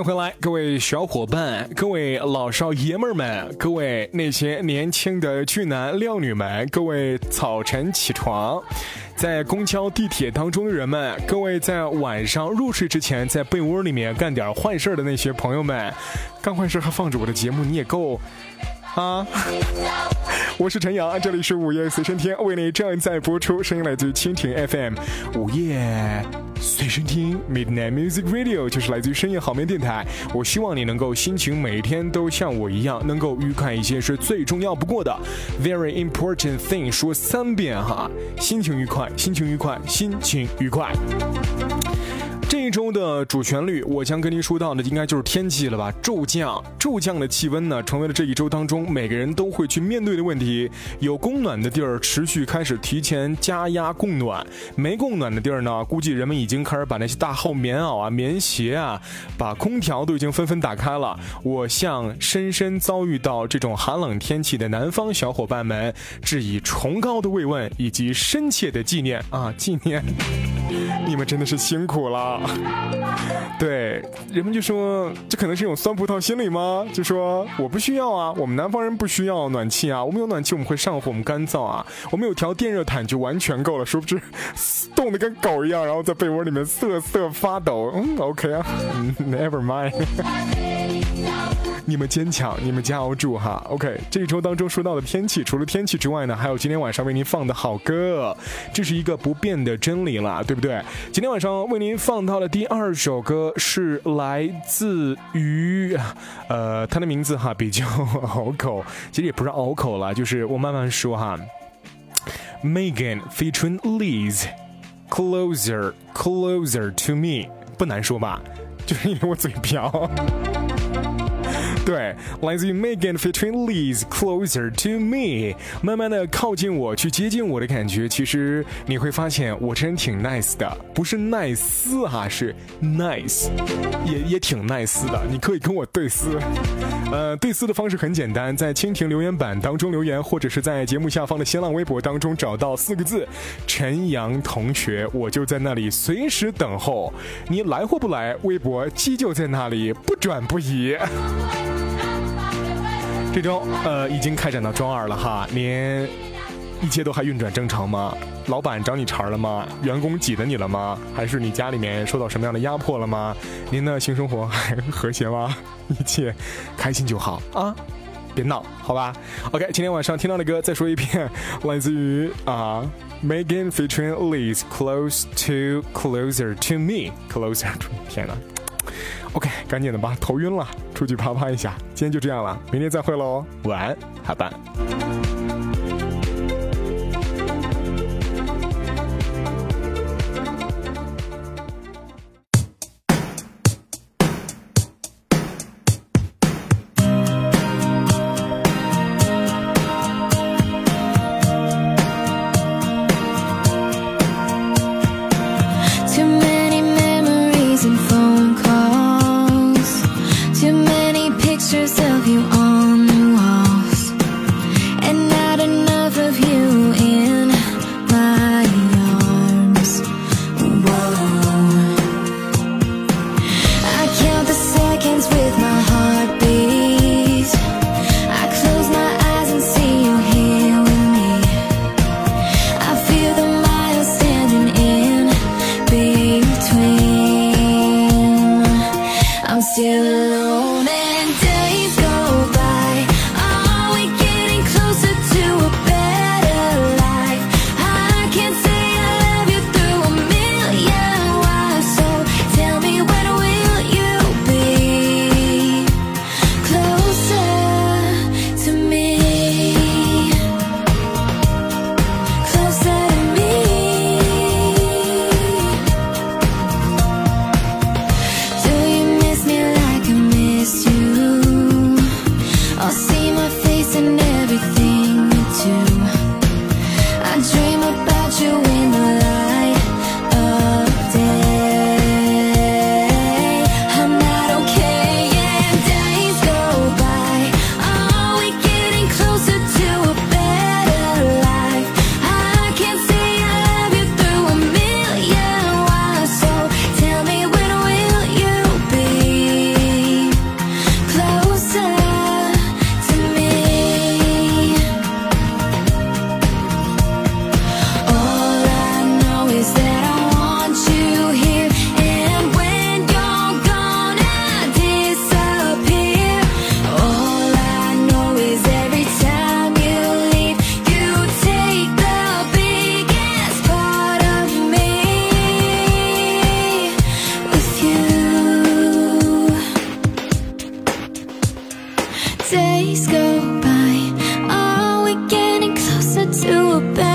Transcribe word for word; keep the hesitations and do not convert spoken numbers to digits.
迎回来，各位小伙伴，各位老少爷们儿们，各位那些年轻的俊男靓女们，各位早晨起床在公交地铁当中的人们，各位在晚上入睡之前在被窝里面干点坏事的那些朋友们，干坏事还放着我的节目，你也够啊！我是陈阳，这里是午夜随身听，为你正在播出，声音来自于蜻蜓 F M， 午夜随身听 Midnight Music Radio 就是来自于深夜好眠电台。我希望你能够心情每天都像我一样，能够愉快一些是最重要不过的。Very important thing 说三遍哈，心情愉快，心情愉快，心情愉快。这一周的主旋律，我将跟您说到的应该就是天气了吧？骤降，骤降的气温呢，成为了这一周当中每个人都会去面对的问题。有供暖的地儿持续开始提前加压供暖，没供暖的地儿呢，估计人们已经开始把那些大厚棉袄啊、棉鞋啊，把空调都已经纷纷打开了。我向深深遭遇到这种寒冷天气的南方小伙伴们致以崇高的慰问以及深切的纪念啊！纪念，你们真的是辛苦了。对，人们就说这可能是一种酸葡萄心理吗？就说我不需要啊，我们南方人不需要暖气啊，我们有暖气我们会上火，我们干燥啊，我们有条电热毯就完全够了，殊不知冻得跟狗一样，然后在被窝里面瑟瑟发抖。嗯 OK 啊、嗯、Never mind 你们坚强，你们加油住哈。 OK， 这一周当中说到的天气，除了天气之外呢，还有今天晚上为您放的好歌，这是一个不变的真理了，对不对？今天晚上为您放到的第二首歌是来自于呃，他的名字哈比较拗口，其实也不是拗口了，就是我慢慢说哈。Megan featuring Liz Closer Closer to Me， 不难说吧，就是因为我嘴瓢。对，来自于 Megan featuring Liz Closer to Me， 慢慢的靠近我，去接近我的感觉。其实你会发现我真挺 nice 的，不是 nice 哈，是 nice， 也也挺 nice 的。你可以跟我对撕，呃，对撕的方式很简单，在蜻蜓留言板当中留言，或者是在节目下方的新浪微博当中找到四个字陈阳同学，我就在那里随时等候。你来或不来，微博依旧在那里不转不移。这周呃已经开展到周二了哈，您一切都还运转正常吗？老板找你茬了吗？员工挤得你了吗？还是你家里面受到什么样的压迫了吗？您的性生活还和谐吗？一切开心就好啊，别闹好吧。 OK， 今天晚上听到的歌再说一遍，来自于啊 Megan featuring Liz Close to Closer to Me Closer to Me， 天哪OK， 赶紧的吧，头晕了，出去啪啪一下。今天就这样了，明天再会喽，晚安，下班。 Of you on the walls, and not enough to a bed